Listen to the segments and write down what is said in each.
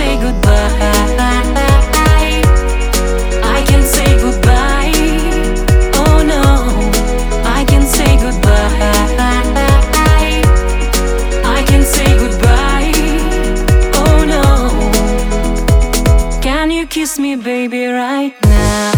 say goodbye. I can say goodbye. Oh no, I can say goodbye. I can say goodbye. Oh no, can you kiss me, baby, right now?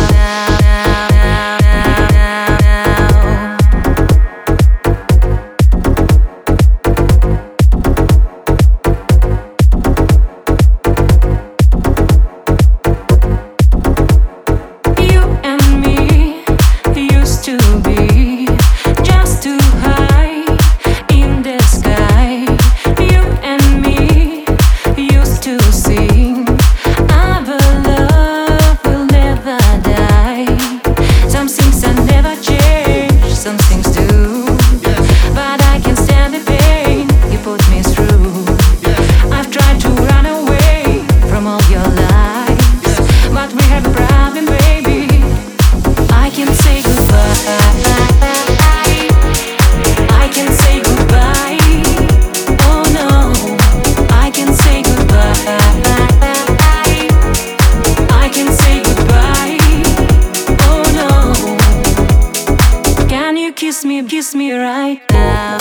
Kiss me right now.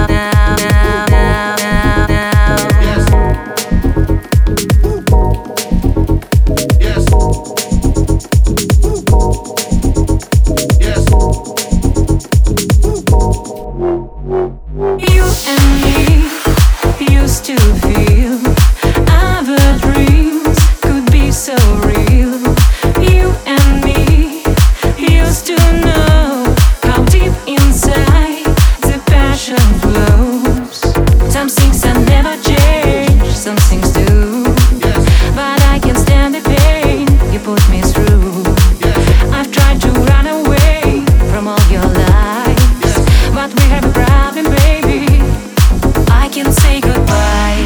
Yes. Yes. You and me used to feel our dreams could be so real. You and me used to know how deep inside the passion flows. Some things I never change, some things do. But I can stand the pain you put me through. I've tried to run away from all your lies, but we have a problem, baby. I can say goodbye.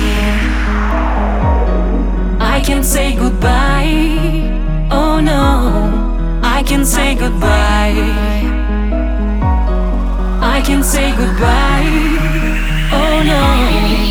I can say goodbye. Oh no, I can say goodbye. I can say goodbye. Oh no.